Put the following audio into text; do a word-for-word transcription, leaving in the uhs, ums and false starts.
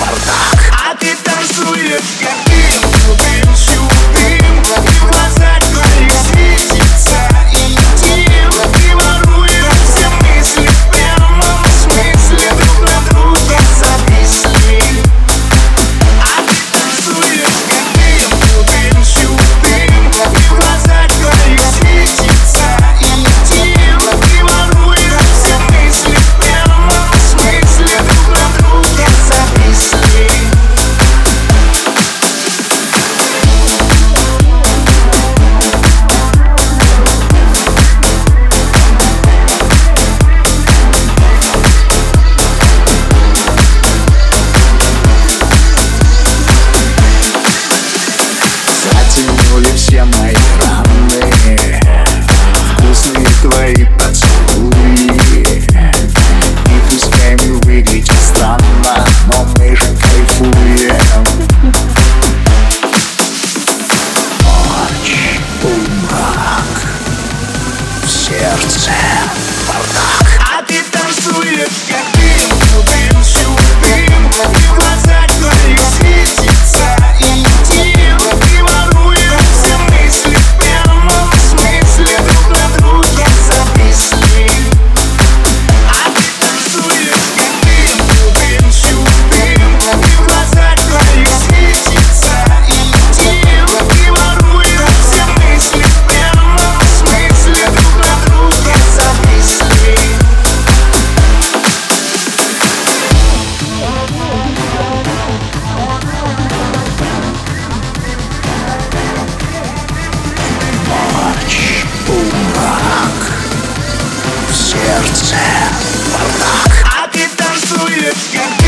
бардак. А ты танцуешь, как дым, дым, дым. И в глазах твоих светится интим. Ты воруешь все мысли в прямом смысле. Друг на друга зависли. А ты танцуешь, как дым, дым, дым. И в глазах твоих светится интим. Ты воруешь все мысли в прямом смысле. Друг на друга зависли. Затянули все мои раны, вкусные твои поцелуи. И пускай мы выглядим странно, но мы же кайфуем. Ночь, полумрак, в сердце бардак. А ты танцуешь, как дым, дым, дым. И в глазах твоих светится интим. Ты воруешь все мысли в прямом смысле. Друг на друга зависли. А ты танцуешь, как дым, дым, дым. И в глазах твоих светится интим. Ты воруешь все мысли в прямом смысле. Друг на друга зависли. Ночь, полумрак, в сердце бардак. А ты танцуешь, как